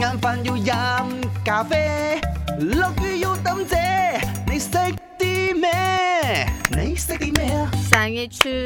晏飯要飲咖啡，落雨要抌遮，你識啲咩？你識啲咩啊？ 생일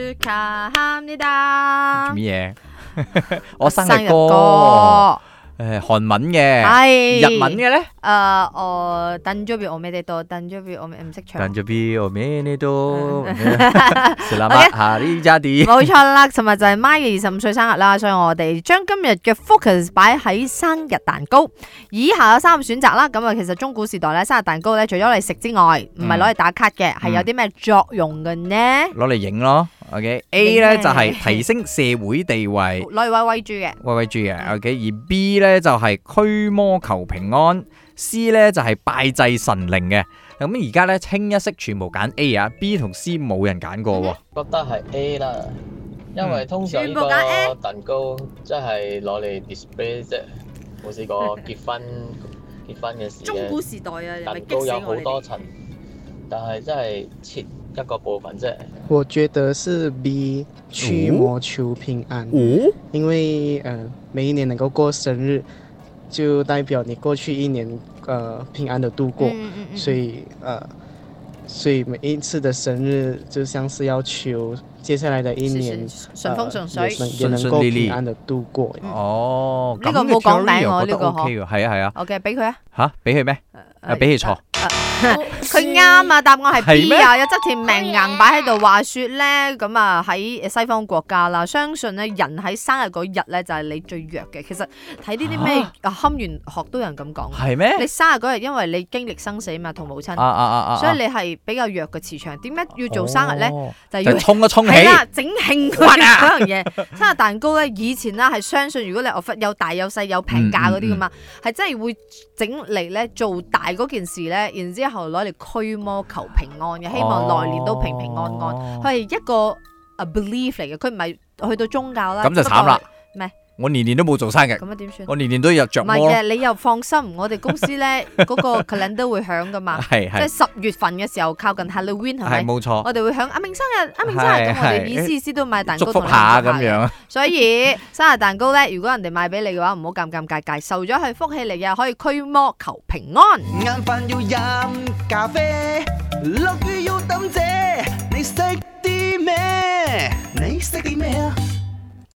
축하합니다。 做乜嘢？我生日生日歌歌，韓文嘅， 係日文嘅咧？ 我誕生日おめでとう，誕生日我唔識唱。 誕生日おめでとう，Selamat Hari Jadi。 冇錯啦，尋日就係媽嘅25歲生日啦，所以我哋將今日嘅 focus 擺喺生日蛋糕。以下有3個選擇啦，咁啊其實中古時代咧生日蛋糕咧，除咗嚟食之外，唔係攞嚟打卡嘅，係有啲咩作用嘅呢？ 攞嚟影咯，OK。A 咧就係提升社會地位， 攞嚟威豬嘅。 威豬嘅，OK。而 B 咧就係驅魔求平安。C 咧就係拜祭神靈嘅，咁而家咧清一色全部揀 A 啊 ，B 同 C 冇人揀過喎。 覺得係 A 啦，因為通常呢個蛋糕即係攞嚟 display 啫，冇試過結婚嘅時中古嘅時代啊， 蛋糕有好多層，但係真係切一個部分啫。 我覺得是 B 驅魔求平安，因為每一年能夠過生日，就代表你過去一年平安的度過，所以每一次的生日就像是要求接下來的一年順風順水， 也能夠平安的度過。 哦， 呢個冇講名我呢個 OK 喎，係啊。 OK， 俾佢啊。 吓，俾佢咩？俾佢錯。 佢啱啊，答案係 B 啊，有側田命硬擺喺度。話說咧，咁啊喺西方國家啦，相信咧人喺生日嗰日咧就係你最弱嘅。其實睇呢啲咩堪輿學都有人咁講。 係咩？ 你生日嗰日，因為你經歷生死嘛，同母親，所以你係比較弱嘅磁場。點解要做生日咧？就要衝一衝起。 係啦，整慶嗰樣嘢。生日蛋糕咧，以前啦係相信，如果你有大有細有平價嗰啲噶嘛，係真係會整嚟咧做大嗰件事咧，然之後攞嚟驅魔求平安嘅，希望來年都平平安安。佢係一個 belief 嚟嘅，佢唔係去到宗教啦。 咁就慘啦。 咩？ 我年年都冇做生日。咁啊點算？ 我年年都有着魔。 唔係嘅，你又放心，我哋公司咧嗰個 calendar 會響噶嘛。 係即係10月份嘅時候，靠近 Halloween 係咪？ 係冇錯。 我哋會響阿明生日，咁我哋意思都買蛋糕祝福下咁樣。 所以生日蛋糕咧，如果人哋買俾你嘅話，唔好尷尬，受咗係福氣嚟嘅，可以驅魔求平安。 晏飯要飲咖啡，落雨要抌遮，你識啲咩？你識啲咩啊？